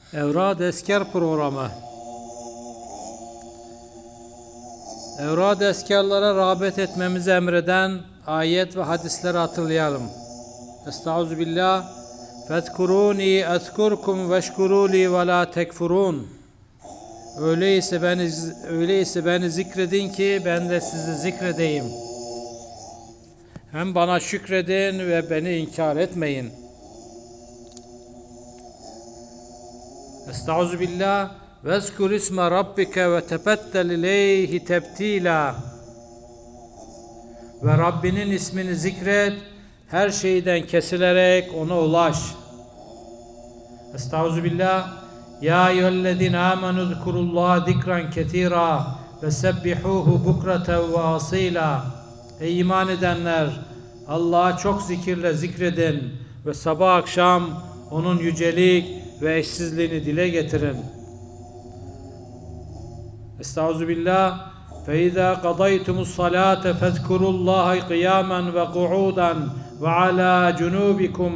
Evrad Esker programı. Evrad eskarlara rağbet etmemizi emreden ayet ve hadisleri hatırlayalım. Estağfirullah. Fezkuruni ezkurkum veşkuruli ve la tekfurun. Öyleyse beni zikredin ki ben de sizi zikredeyim. Hem bana şükredin ve beni inkar etmeyin. Estağfirullah. Vezkur isme rabbike ve tebettel ileyhi tebtila. Ve Rabbinin ismini zikret, her şeyden kesilerek ona ulaş. Estağfirullah. Ya eyyühellezine amenu zkurullaha zikran ketira ve sebbihuhu bukraten ve asila. Ey iman edenler, Allah'a çok zikirle zikredin ve sabah akşam onun yücelik ve eşsizliğini dile getirin. Estağfirullah. فَاِذَا قَضَيْتُمُ الصَّلَاةَ فَاذْكُرُوا اللّٰهَ قِيَامًا وَقُعُودًا وَعَلَى جُنُوبِكُمْ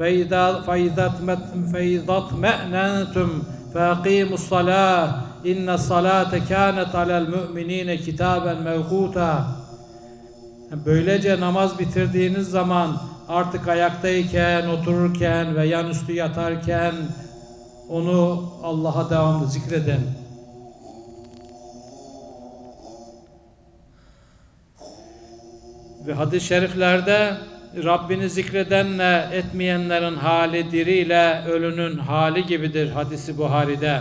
فَاِذَا اطْمَأْنَنْتُمْ فَاقِيمُوا الصَّلَاةَ اِنَّ الصَّلَاةَ كَانَتْ عَلَى الْمُؤْمِنِينَ كِتَابًا مَوْقُوتًا. Böylece namaz bitirdiğiniz zaman artık ayaktayken, otururken ve yanüstü yatarken onu Allah'a devamlı zikredin. Ve hadis-i şeriflerde Rabbini zikredenle etmeyenlerin hali diriyle ölünün hali gibidir hadisi Buhari'de.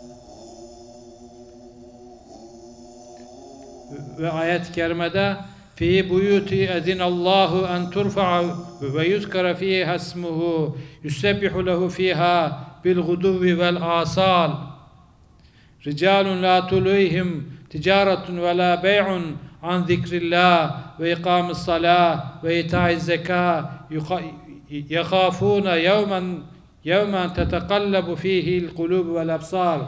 Ve ayet-i kerimede fi buyuti edinallahu en turfa'a ve yuzkara fiha ismuhu yusebbihu lehu fiha bil guduvi vel asal ricalun la tulihim ticaretun ve la bey'un an zikrillah ve ikamis salah ve itaiz zeka yakhafuna yevmen tetekallabu fihi'l kulub vel absar.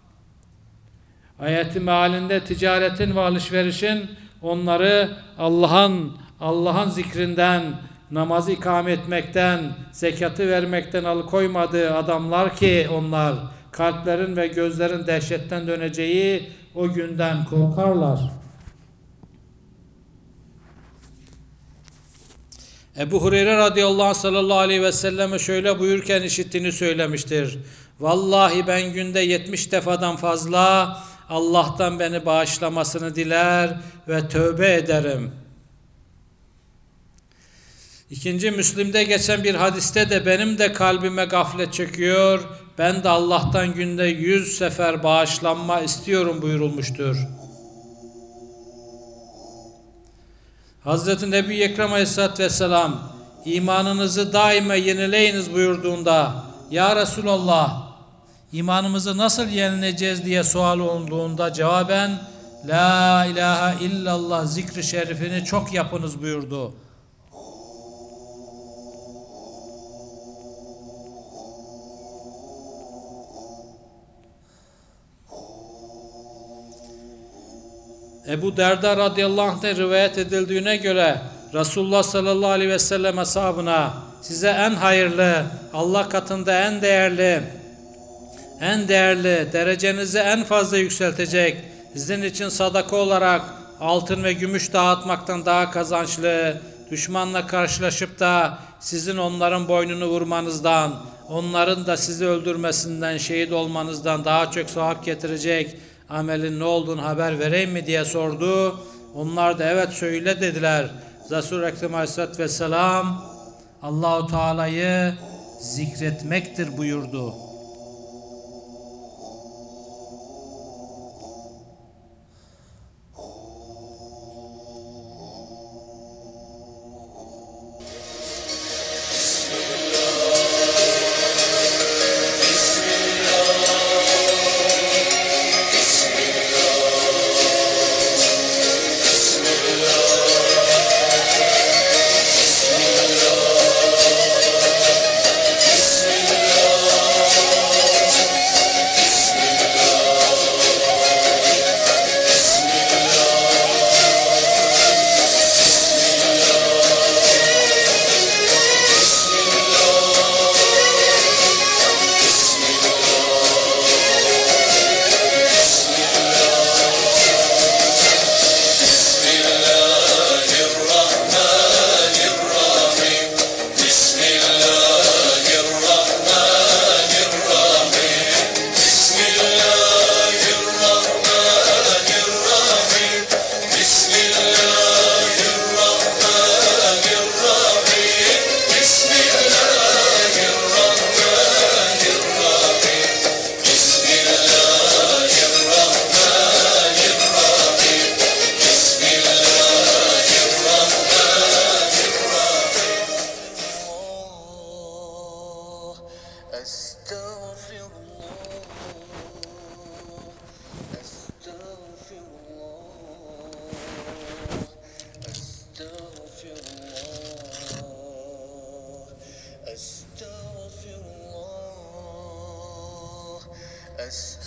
Ayetin mealinde ticaretin ve alışverişin onları Allah'ın zikrinden, namazı ikame etmekten, zekatı vermekten alıkoymadığı adamlar ki onlar kalplerin ve gözlerin dehşetten döneceği o günden korkarlar. Ebu Hureyre radıyallahu anh sallallahu aleyhi ve selleme şöyle buyurken işittiğini söylemiştir. Vallahi ben günde 70 defadan fazla Allah'tan beni bağışlamasını diler ve tövbe ederim. İkinci Müslim'de geçen bir hadiste de benim de kalbime gaflet çöküyor, ben de Allah'tan günde 100 sefer bağışlanma istiyorum buyurulmuştur. Hazreti Nebi Ekrem Aleyhisselatü Vesselam imanınızı daima yenileyiniz buyurduğunda Ya Resulallah imanımızı nasıl yenileceğiz diye sual olduğunda cevaben La ilahe illallah zikri şerifini çok yapınız buyurdu. Ebu Derda radıyallahu anh'ten rivayet edildiğine göre Resulullah sallallahu aleyhi ve sellem ashabına size en hayırlı, Allah katında en değerli, derecenizi en fazla yükseltecek, sizin için sadaka olarak altın ve gümüş dağıtmaktan daha kazançlı, düşmanla karşılaşıp da sizin onların boynunu vurmanızdan, onların da sizi öldürmesinden, şehit olmanızdan daha çok sevap getirecek amelin ne olduğunu haber vereyim mi diye sordu. Onlar da evet söyle dediler. Resul-i Ekrem Aleyhisselatü Vesselam Allah-u Teala'yı zikretmektir buyurdu.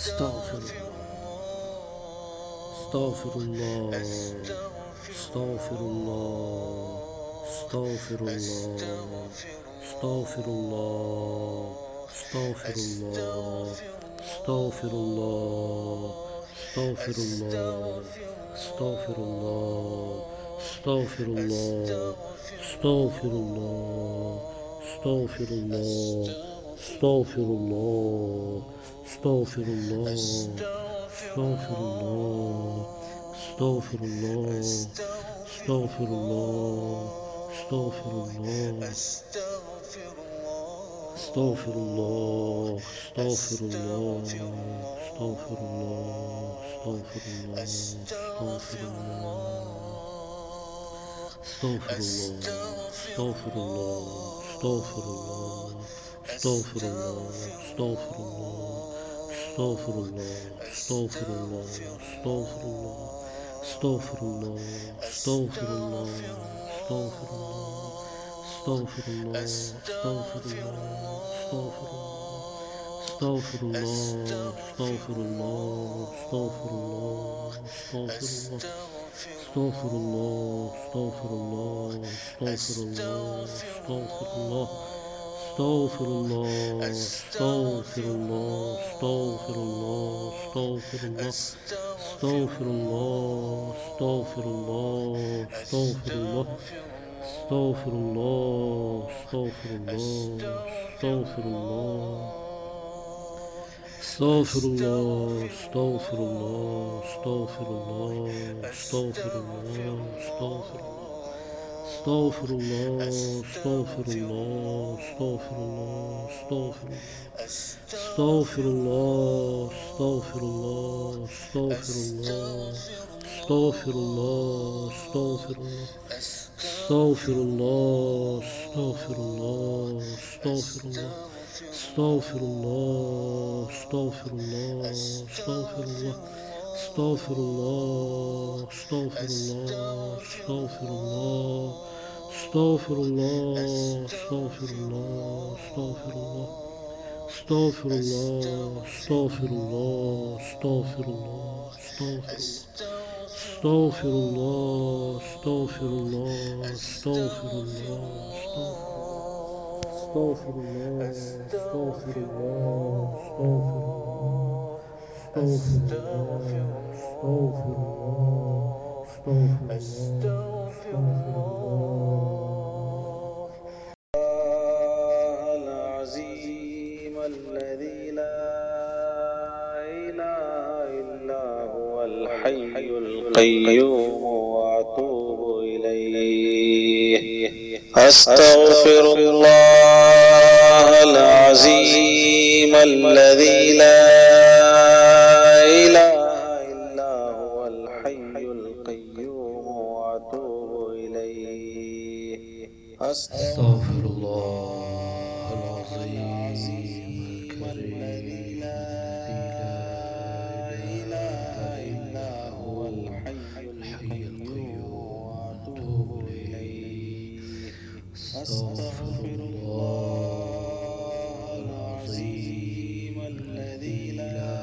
Estağfirullah, estağfirullah, estağfirullah, estağfirullah, estağfirullah, estağfirullah, estağfirullah, estağfirullah, estağfirullah, estağfirullah, estağfirullah, estağfirullah, estağfirullah, estağfirullah, estağfirullah, estağfirullah, estağfirullah, estağfirullah, estağfirullah, estağfirullah, العظيم الذي لا إله إلا هو الحي القيوم وأتوب إليه. أستغفر الله العظيم الذي لا إله إلا هو الحي القيوم وأتوب إليه. أستغفر الله العظيم الذي لا إله إلا هو الحي القيوم وأتوب إليه. أستغفر الله العظيم الذي لا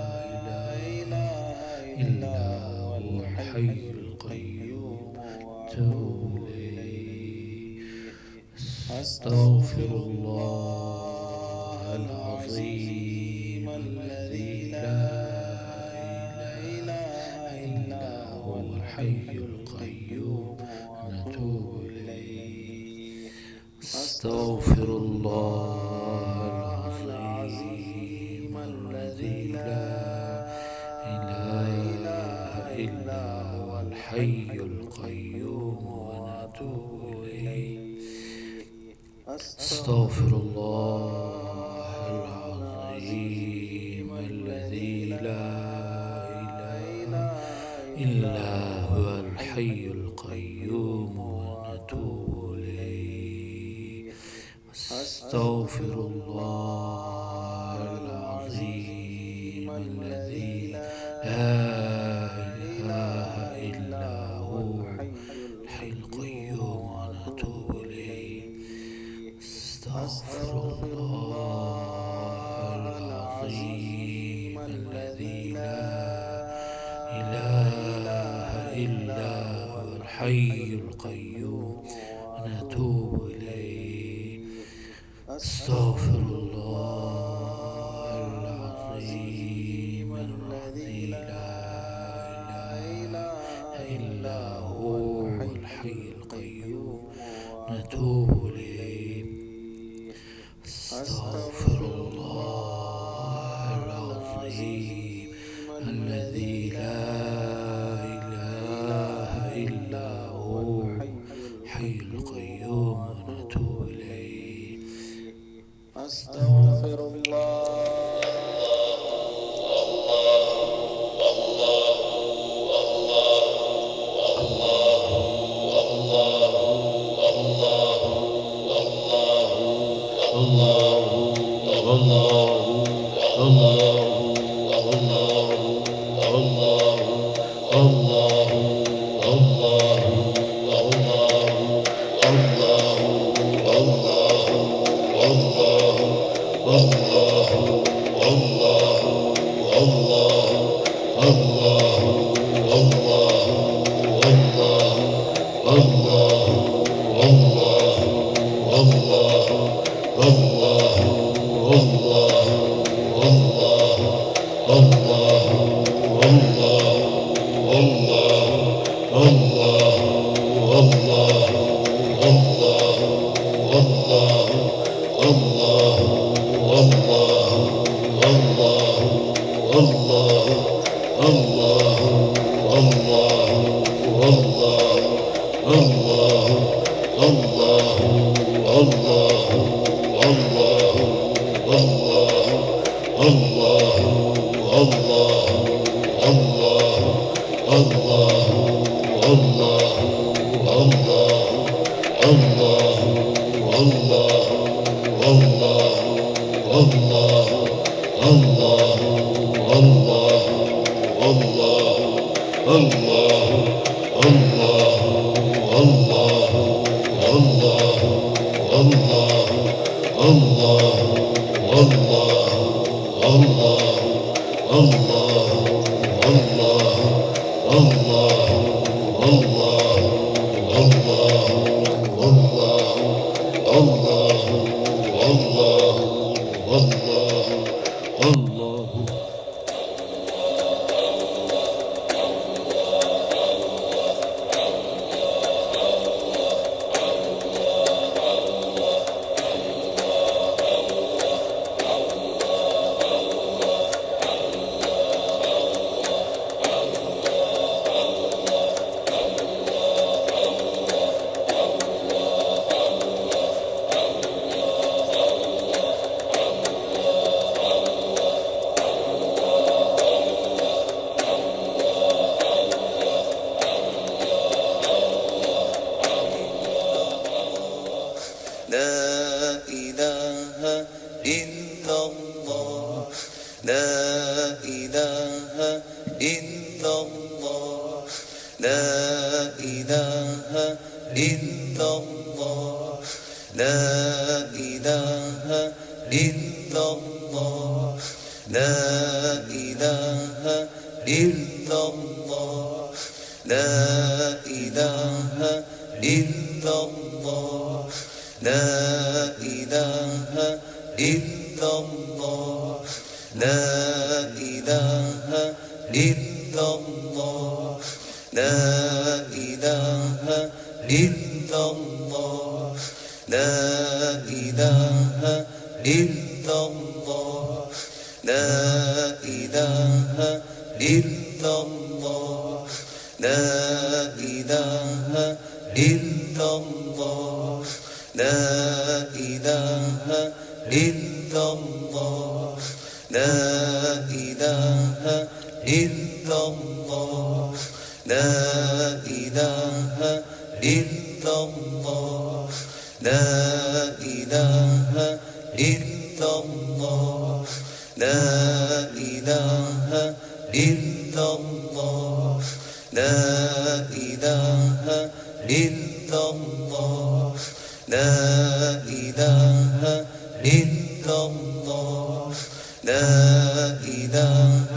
إله إلا هو الحي القيوم وأتوب إليه. أستغفر الله العظيم الذي لا إله إلا هو الحي القيوم ونتوب إليه. أستغفر الله العظيم الذي لا إله إلا هو الحي القيوم ونتوب إليه. أستغفر الله العظيم الذي لا إله إلا هو الحي القيوم ونتوب إليه. أستغفر الله العظيم الذي لا إله إلا هو الحي القيوم ونتوب إليه. أستغفر الله العظيم الحي القيوم ونتوب إليه. أستغفر الله العظيم الذي لا إله إلا هو الحي القيوم نتوب إليه. أستغفر الله العظيم الذي لا إله إلا هو الحي القيوم ونتوب إليه. أستغفر الله.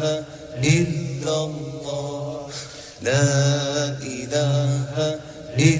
إله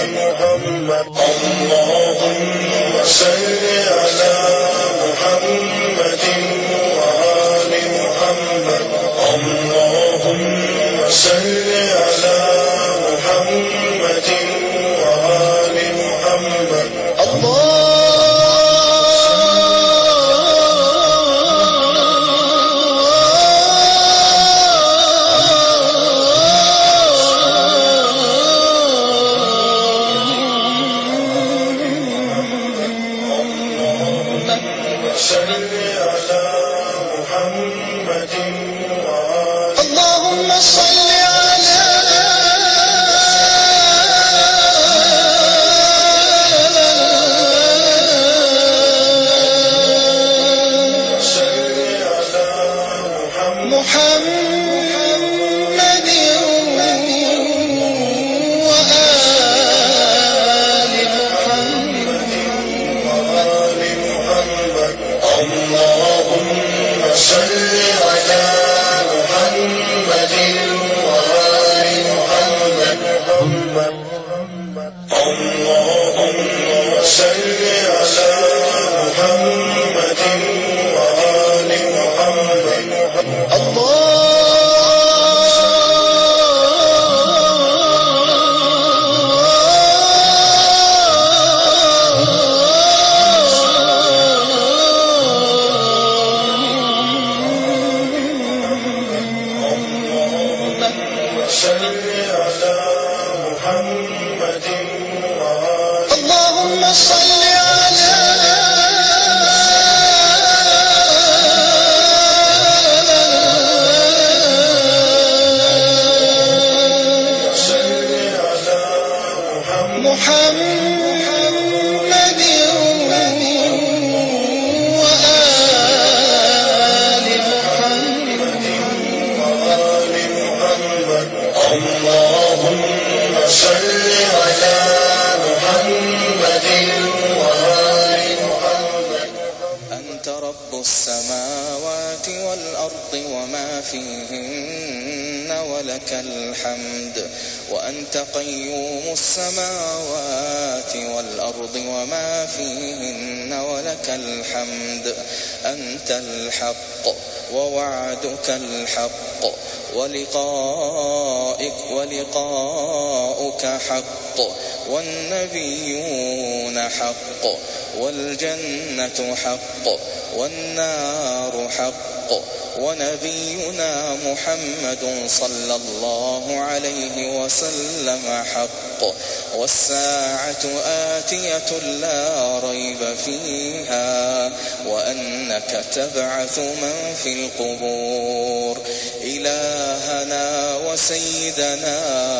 محمد اللهم صل على محمد وآل محمد اللهم صل على محمد وآل محمد اللهم صل على محمد وآل محمد اللهم صل على محمد وآل محمد اللهم صل على محمد وآل محمد صل على محمد اللهم صل على محمد وآل محمد اللهم صل على محمد وآل محمد أنت رب السماوات والأرض وما فيهن ولك الحمد وأنت قيوم السماوات والأرض وما فيهن ولك الحمد أنت الحق ووعدك الحق ولقاؤك حق والنبيون حق والجنة حق والنار حق ونبينا محمد صلى الله عليه وسلم حق والساعة آتية لا ريب فيها وأنك تبعث من في القبور إلهنا وسيدنا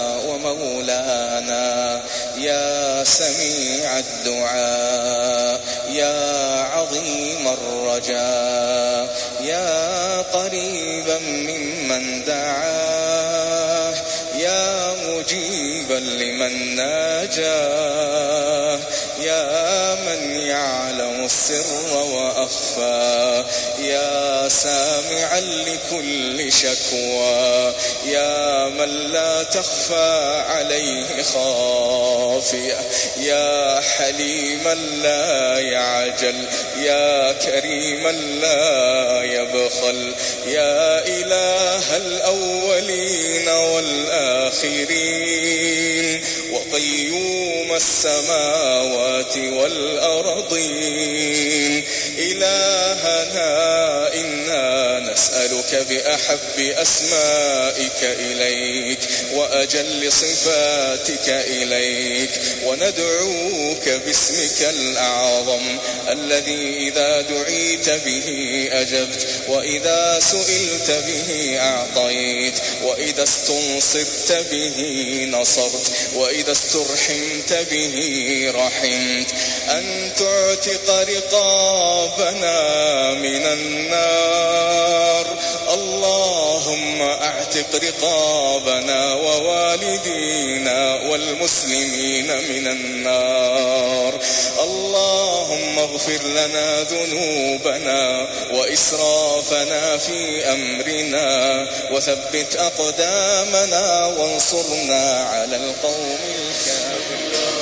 ومولانا يا سميع الدعاء يا عظيم الرجاء يا قريبا ممن دعاه يا مجيبا لمن ناجاه يا من يعلم السر وأخفى يا سامعا لكل شكوى يا من لا تخفى عليه خافية يا حليما لا يعجل يا كريما لا يبخل يا إله الأولين والآخرين وقيوم السماوات والأرضين إلهنا إنا نسألك بأحب أسمائك إليك وأجل صفاتك إليك وندعوك باسمك الأعظم الذي إذا دعيت به أجبت وإذا سئلت به أعطيت وإذا استنصرت به نصرت وإذا استرحمت به رحمت أن تعتق رقابنا من النار اللهم اعتق رقابنا ووالدينا والمسلمين من النار اللهم اغفر لنا ذنوبنا وإسرافنا في أمرنا وثبت أقدامنا وانصرنا على القوم الكافرين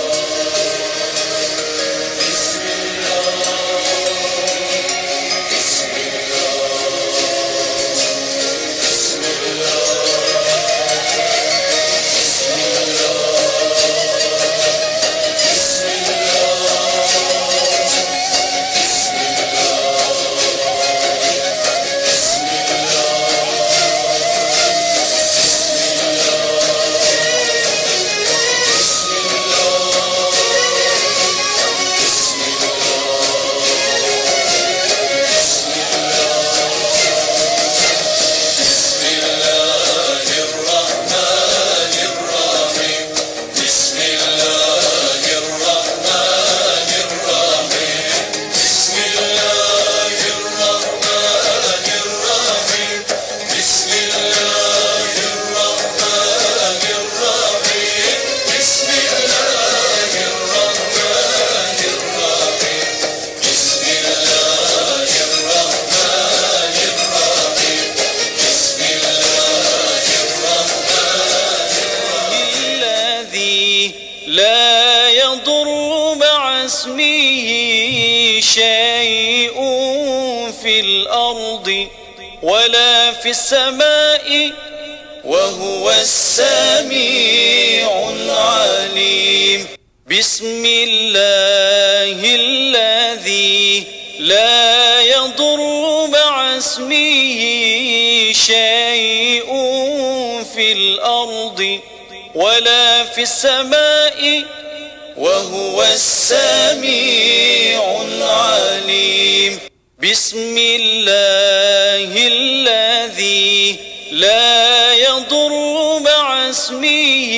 اسمه شيء في الأرض ولا في السماء وهو السميع العليم بسم الله الذي لا يضر مع اسمه شيء في الأرض ولا في السماء وهو السميع العليم بسم الله الذي لا يضر مع اسمه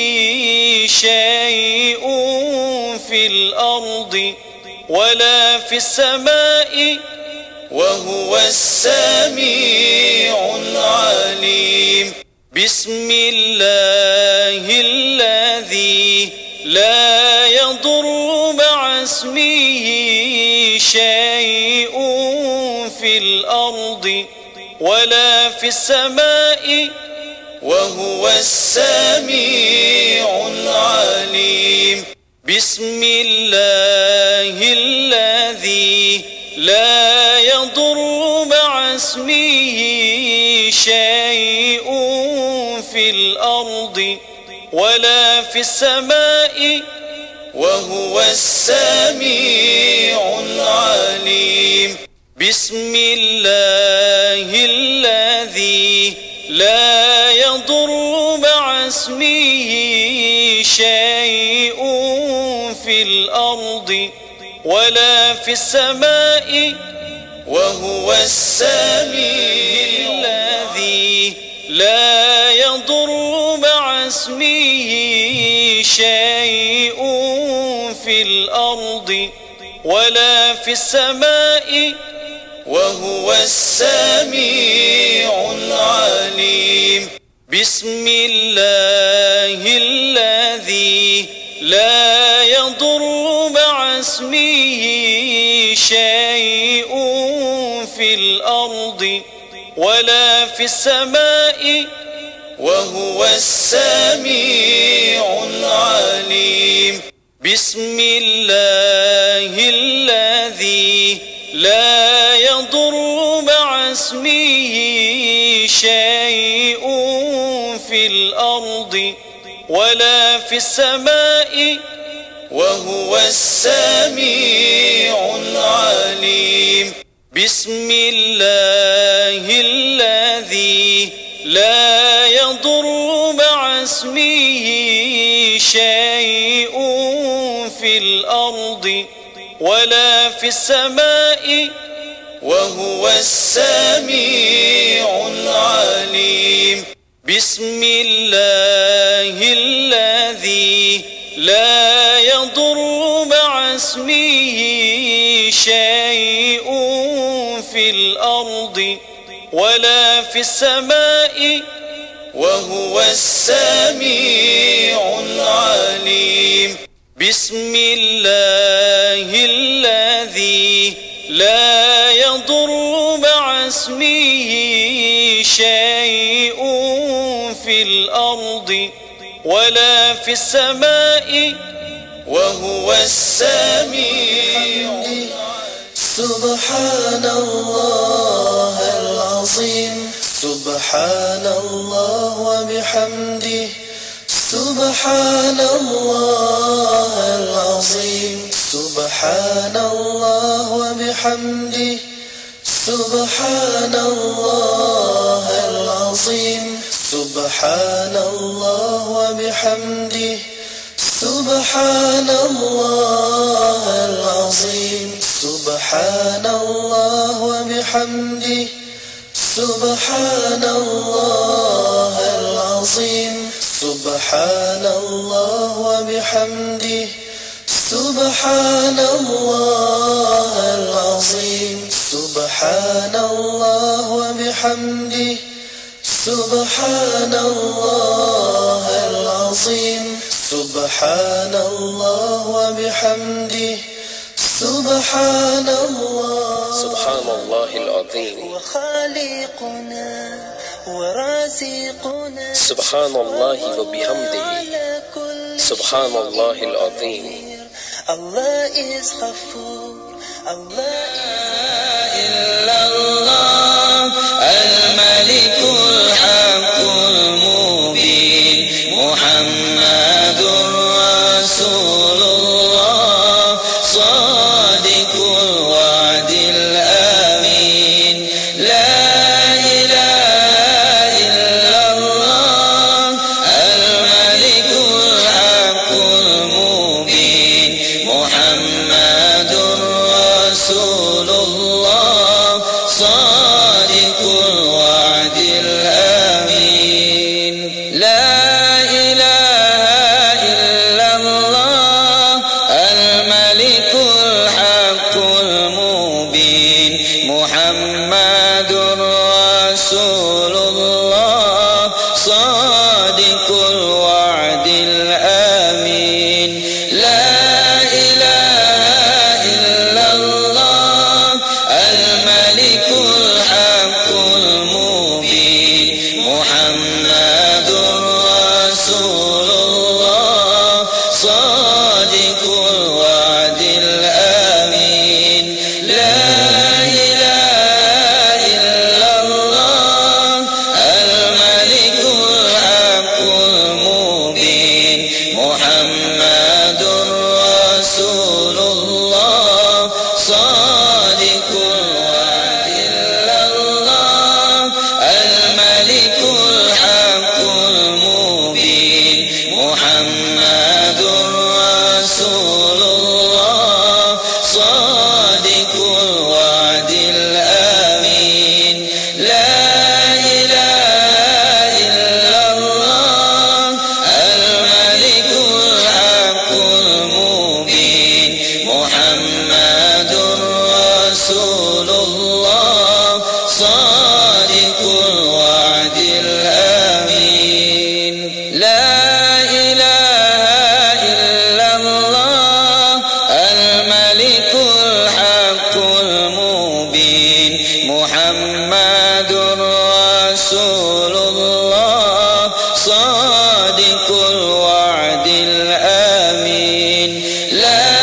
شيء في الأرض ولا في السماء وهو السميع العليم بسم الله الذي لا يضر مع اسمه شيء في الأرض ولا في السماء وهو السميع العليم بسم الله الذي لا يضر مع اسمه شيء في الأرض ولا في السماء وهو السميع العليم بسم الله الذي لا يضر مع اسمه شيء في الأرض ولا في السماء وهو السميع الذي لا يضر مع اسمه شيء في الأرض ولا في السماء وهو السميع العليم بسم الله الذي لا يضر مع اسمه شيء في الأرض ولا في السماء وهو السميع العليم بسم الله الذي لا يضر مع اسمه شيء في الأرض ولا في السماء وهو السميع العليم بسم الله الذي لا يضر مع اسمه شيء في الأرض ولا في السماء وهو السميع العليم بسم الله الذي لا يضر مع اسمه شيء في الأرض ولا في السماء وهو السميع العليم بسم الله الذي لا يضر مع اسمه شيء في الأرض ولا في السماء وهو السميع سبحان الله العظيم سبحان الله وبحمده سبحان الله العظيم سبحان الله وبحمده سبحان الله العظيم سبحان الله وبحمده سبحان الله العظيم سبحان الله وبحمده سبحان الله العظيم سبحان الله وبحمده سبحان الله العظيم سبحان الله وبحمده سبحان الله العظيم سبحان الله وبحمده سبحان الله العظيم وخالقنا ورازقنا سبحان الله وبحمده سبحان الله العظيم Allah is Ghafoor. Allah إلا الله الملك الحق المبين محمد رسول الله صادق الوعد الأمين لا إله إلا الله الملك الحق المبين محمد رسول الله صادق الوعد الأمين لا إله إلا الله الملك الحق المبين محمد رسول الله صادق الوعد الأمين لا إله إلا الله الملك الحق المبين محمد رسول الله صادق الوعد الأمين لا إله إلا الله الملك الحق المبين محمد رسول الله صادق الوعد إلا الله الملك الحق المبين محمد رسول الله صادق الوعد الأمين لا إله إلا الله الملك الحق المبين محمد رسول الله صادق الوعد الأمين لا إله إلا الله الملك الحق المبين محمد رسول الله صادق الوعد الأمين لا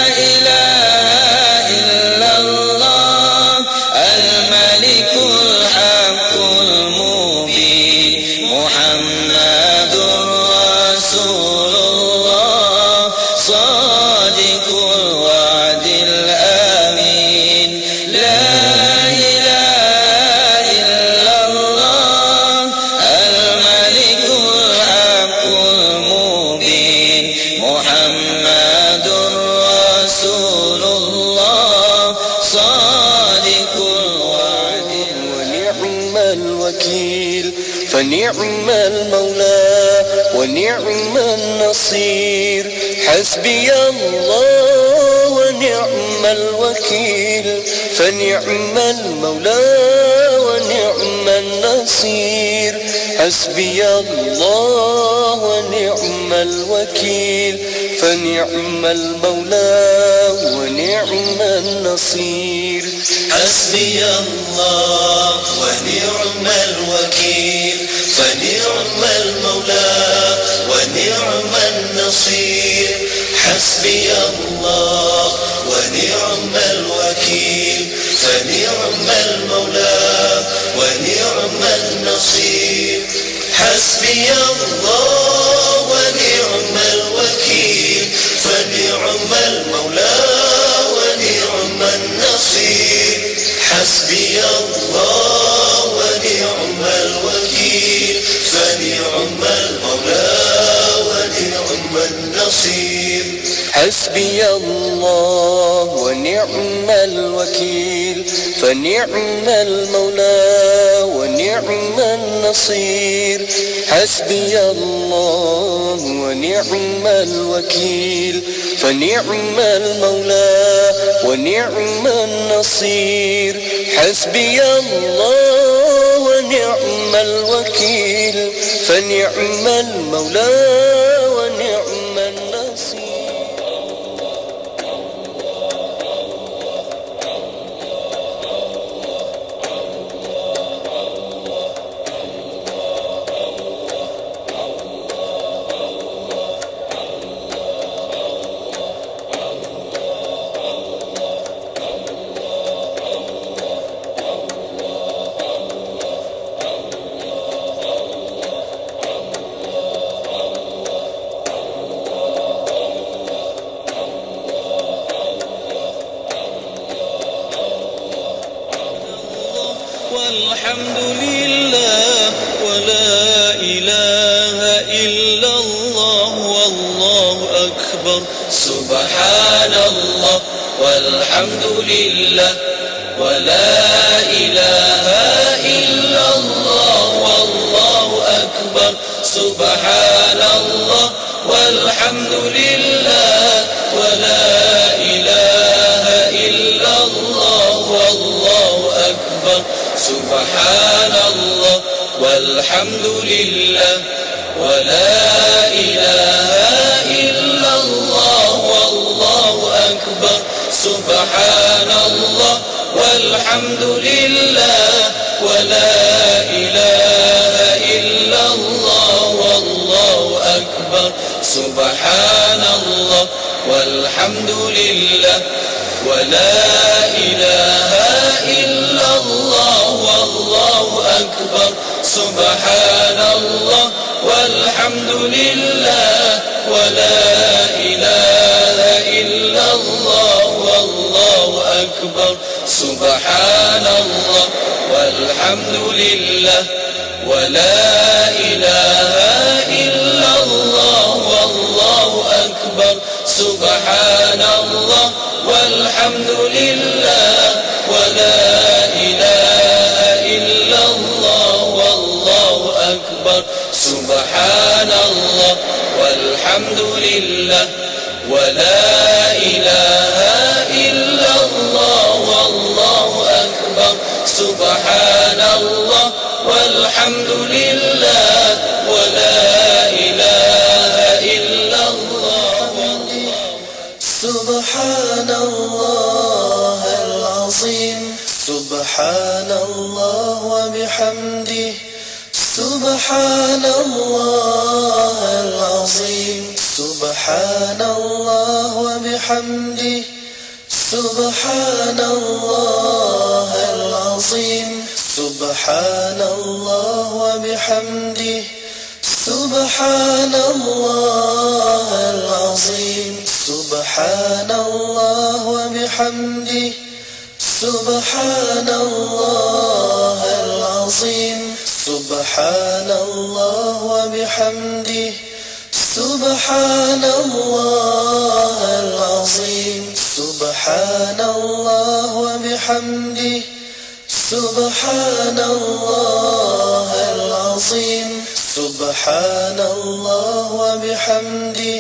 إله إلا الله الملك الحق المبين محمد رسول الله صادق الوعد الأمين لا إله إلا الله الملك الحق المبين محمد رسول الله صادق الوعد ونعم الوكيل فنعم المولى ونعم النصير حسبي الله ونعم الوكيل فنعم المولى ونعم النصير حسبي الله ونعم الوكيل فنعم المولى ونعم النصير حسبي الله ونعم الوكيل فنعم المولى ونعم النصير حسبي الله ونعم الوكيل فنعم المولى ونعم النصير حسبي الله ونعم الوكيل فنعم المولى ونعم النصير حسبي الله ونعم الوكيل فنعم المولى ونعم النصير حسبي الله ونعم الوكيل فنعم المولى ونعم النصير حسبي الله ونعم الوكيل فنعم المولى ونعم النصير حسبي الله ونعم الوكيل فنعم المولى ونعم النصير والحمد لله ولا إله إلا الله والله أكبر سبحان الله والحمد لله ولا إله إلا الله والله أكبر سبحان الله والحمد لله ولا إله إلا الله والله أكبر سبحان الله والحمد لله ولا إله إلا الله والله أكبر سبحان الله والحمد لله ولا إله إلا الله والله أكبر سبحان الله والحمد لله ولا إله إلا الله والله أكبر سبحان الله والحمد لله ولا إله إلا الله والله أكبر سبحان الله والحمد لله ولا إله إلا الله والله أكبر سبحان الله والحمد لله ولا إله إلا الله والله أكبر سبحان الله والحمد لله ولا إله إلا الله والله أكبر سبحان الله والحمد لله ولا إله إلا الله سبحان الله العظيم سبحان الله وبحمده سبحان الله العظيم سبحان الله وبحمده سبحان الله العظيم سبحان الله وبحمده سبحان الله العظيم سبحان الله وبحمده سبحان الله العظيم سبحان الله وبحمده سبحان الله العظيم سبحان الله وبحمده سبحان الله العظيم سبحان الله وبحمده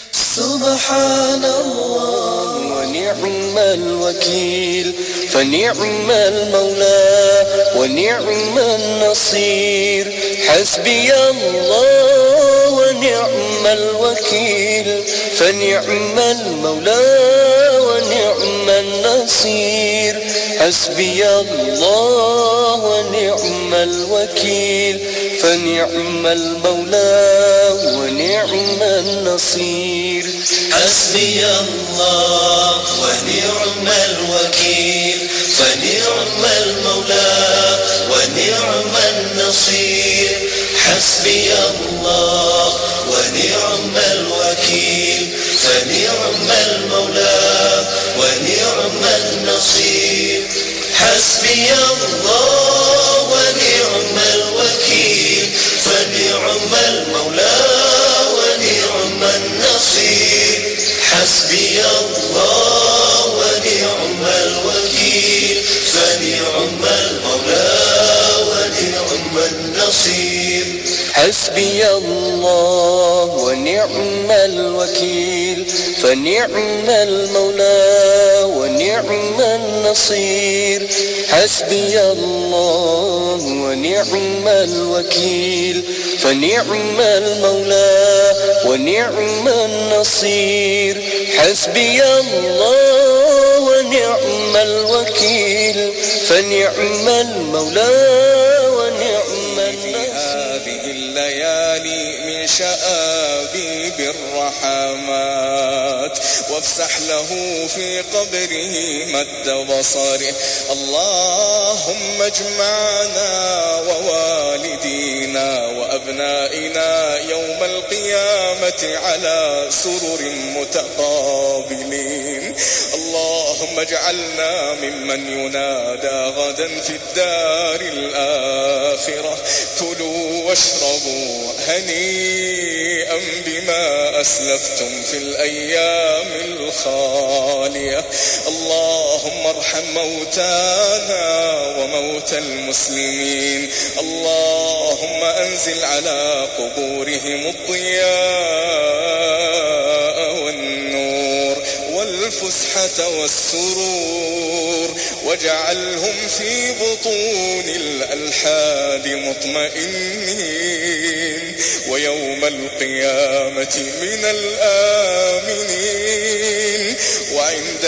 سبحان الله ونعم الوكيل فنعم المولى ونعم النصير حسبي الله ونعم الوكيل فنعم المولى ونعم النصير حسبي الله ونعم الوكيل فنعم المولى ونعم النصير حسبي الله ونعم الوكيل فنعم المولى ونعم النصير حسبي الله ونعم الوكيل فنعم المولى ونعم النصير حسبي الله ونعم الوكيل فنعم المولى ونعم النصير حسبي الله ونعم الوكيل فنعم المولى ونعم النصير حسبي الله ونعم الوكيل فنعم المولى ونعم النصير حسبي الله ونعم الوكيل فنعم المولى ونعم النصير حسبي الله ونعم الوكيل فنعم المولى ونعم هذه الليالي من شآبيب الرحمات وافسح له في قبره مد بصره اللهم اجمعنا ووالدينا وأبنائنا يوم القيامة على سرر متقابلين اللهم اللهم اجعلنا ممن ينادى غدا في الدار الآخرة كلوا واشربوا هنيئا بما أسلفتم في الأيام الخالية. اللهم ارحم موتانا وموتى المسلمين. اللهم أنزل على قبورهم الضياء والنور والفسحة والسرور، واجعلهم في بطون الألحاد مطمئنين، ويوم القيامة من الآمنين، وعند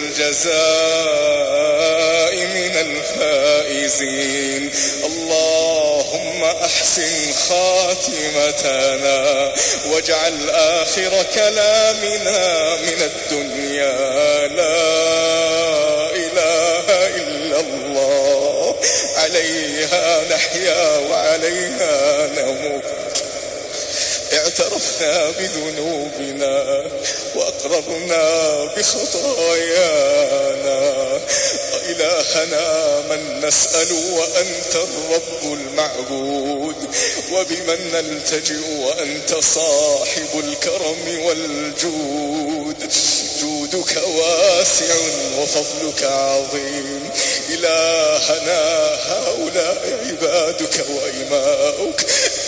الجزاء من الفائزين. اللهم أحسن خاتمتنا، واجعل آخر كلامنا من الدنيا لا إله إلا الله، عليها نحيا وعليها نموت. اعترفنا بذنوبنا وأقررنا بخطايانا. إلهنا من نسأل وأنت الرب المعبود، وبمن نلتجئ وأنت صاحب الكرم والجود. جودك واسع وفضلك عظيم. إلهنا هؤلاء عبادك وإماؤك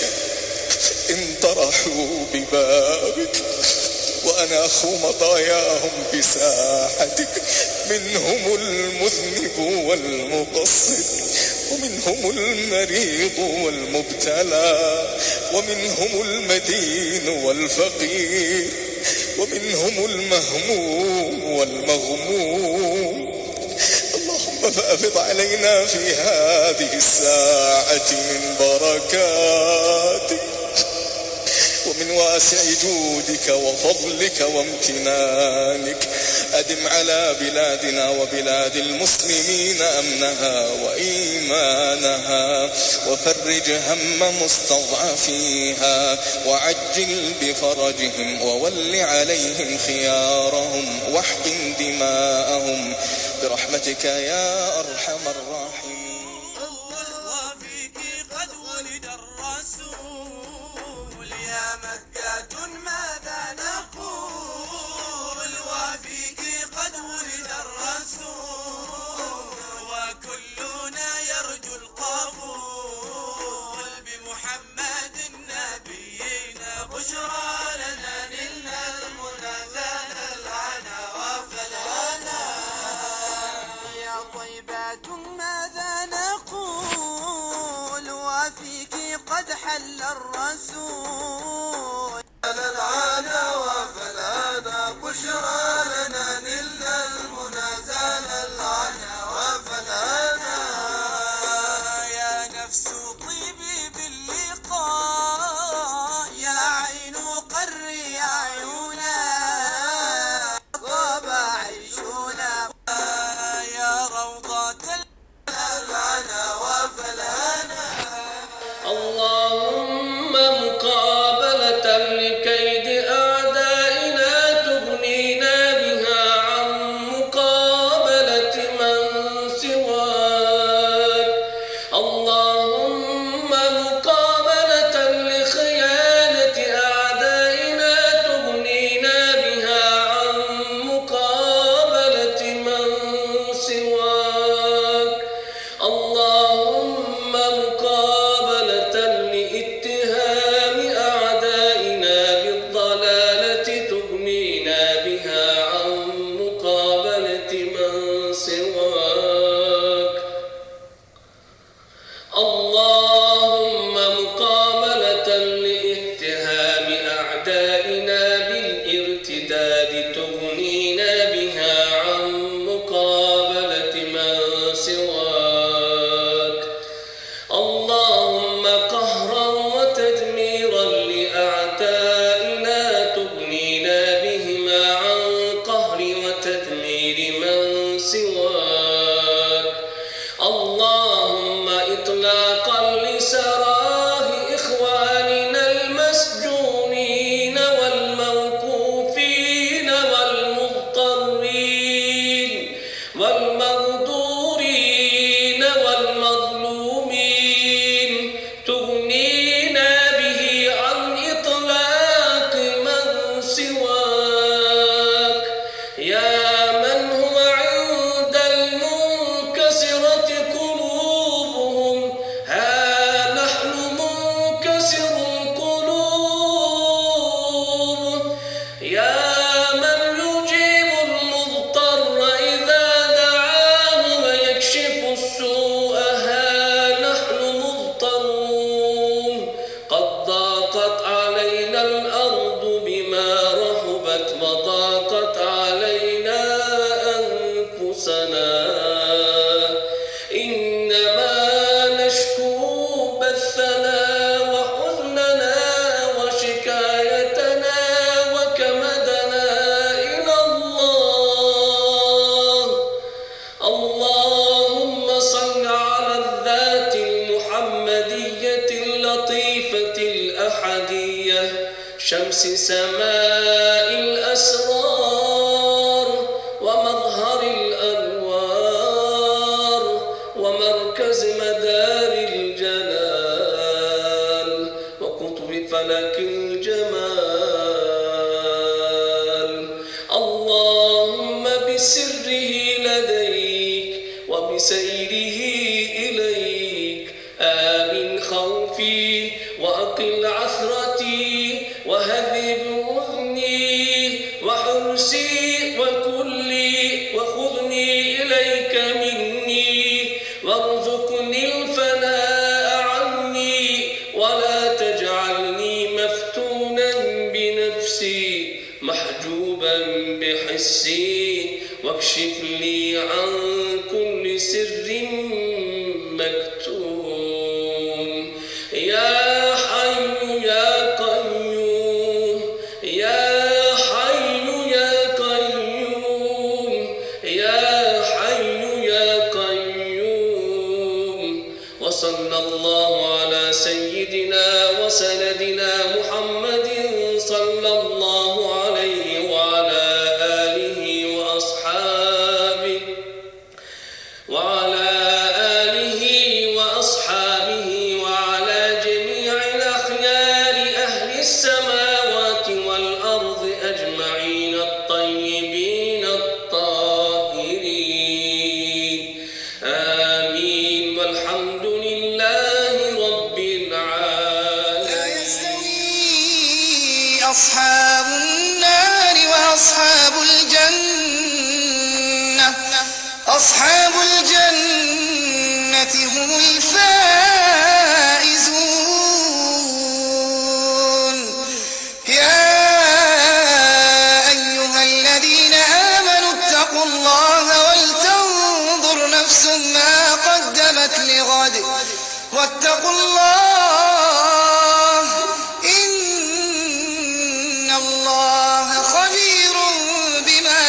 انطرحوا ببابك وأناخوا مطاياهم بساحتك. منهم المذنب والمقصر، ومنهم المريض والمبتلى، ومنهم المدين والفقير، ومنهم المهموم والمغموم. اللهم فأفض علينا في هذه الساعة من بركاتك ومن واسع جودك وفضلك وامتنانك. أدم على بلادنا وبلاد المسلمين أمنها وإيمانها، وفرج هم مستضعفيها، وعجل بفرجهم، وول عليهم خيارهم، واحقن دماءهم برحمتك يا أرحم الراحمين. وفيك قد ولد الرسول، يا مكة ماذا نقول؟ وفيك قد ولد الرسول، وكلنا يرجو القبول. بمحمد نبينا بشرى لنا، نلنا المنى زال العنا وفلانا. يا طيبات ماذا نقول؟ وفيك قد حل الرسول. العنا وفلانا بشرى لنا، نلنا المنى زال العنا وفلانا. يا نفس طيبي باللقاء، يا عين قري عيونا، طاب عيشنا. يا روضة العنا وفلانا. اللهم مقابلة لكيد أعدائنا تغنينا بها عن شمس سماء الأسرار ومظهر الأنوار ومركز مدار الجلال وقطب فلك الجمال. اللهم بسره لديك وبسيره إليك آمن خوفي وأقل عثرتي وهذب أذني وحرسي وكلي وخذني إليك مني وارزقني الفناء عني ولا تجعلني مفتونا بنفسي محجوبا بحسي واكشف لي عن كل سر مكتوم. يا حي يا قيوم يا حي يا قيوم يا حي يا قيوم. وصلى الله على سيدنا وسندنا محمد صلى الله عليه وعلى آله وأصحابه وعلى جميع الأخيار أهل السماوات والأرض أجمعين الطيبين الطاهرين. آمين والحمد لله رب العالمين. لا يستوي أصحاب النار وأصحاب الجنة. أصحاب الجنة هم الفائزون. يا أيها الذين آمنوا اتقوا الله ولتنظر نفس ما قدمت لغد واتقوا الله إن الله خبير بما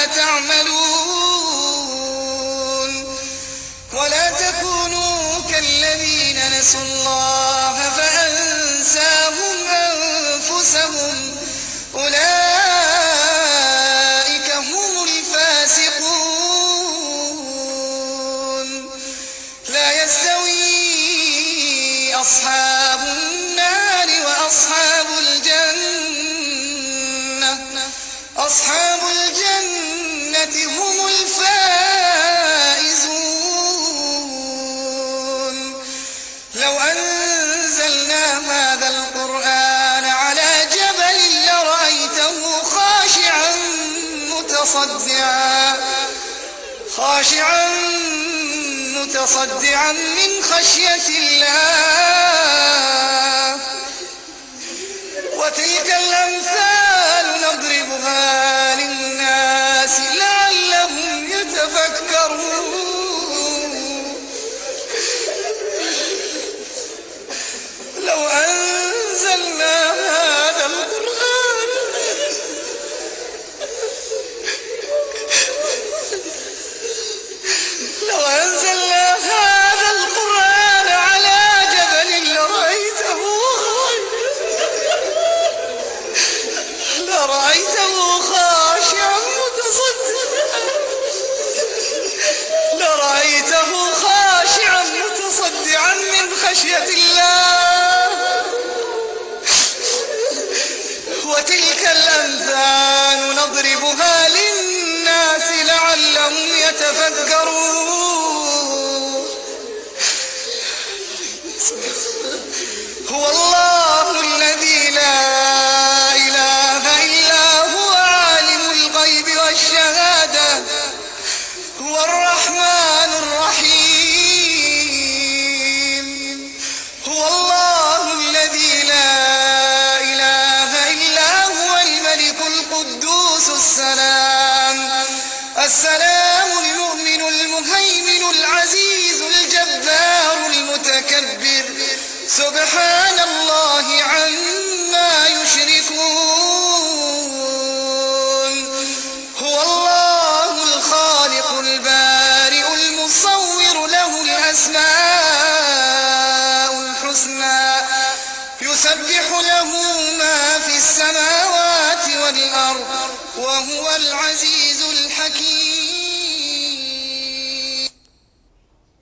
تعملون. ولا تكونوا كالذين نسوا الله فأنساهم أنفسهم أولئك هم الفاسقون. لا يستوي أصحاب النار وأصحاب الجنة. أصحاب الجنة هم الفائزون. لو أنزلنا هذا القرآن على جبل لرأيته خاشعا متصدعا من خشية الله. وتلك الأمثال نضربها للناس لعلهم يتفكرون. لو أنزلنا هذا القرآن على جبل لرأيته خاشعا متصدعا من خشية الله. وتلك الأمثال نضربها للناس لعلهم يتفكرون. هو الله الذي لا إله إلا هو عالم الغيب والشهادة هو الرحمن الرحيم. هو الله الذي لا إله إلا هو الملك القدوس السلام المؤمن المهيمن العزيز الجبار المتكبر سبحان الله عما يشركون. هو الله الخالق البارئ المصور له الأسماء الحسنى يسبح له ما في السماوات والأرض وهو العزيز الحكيم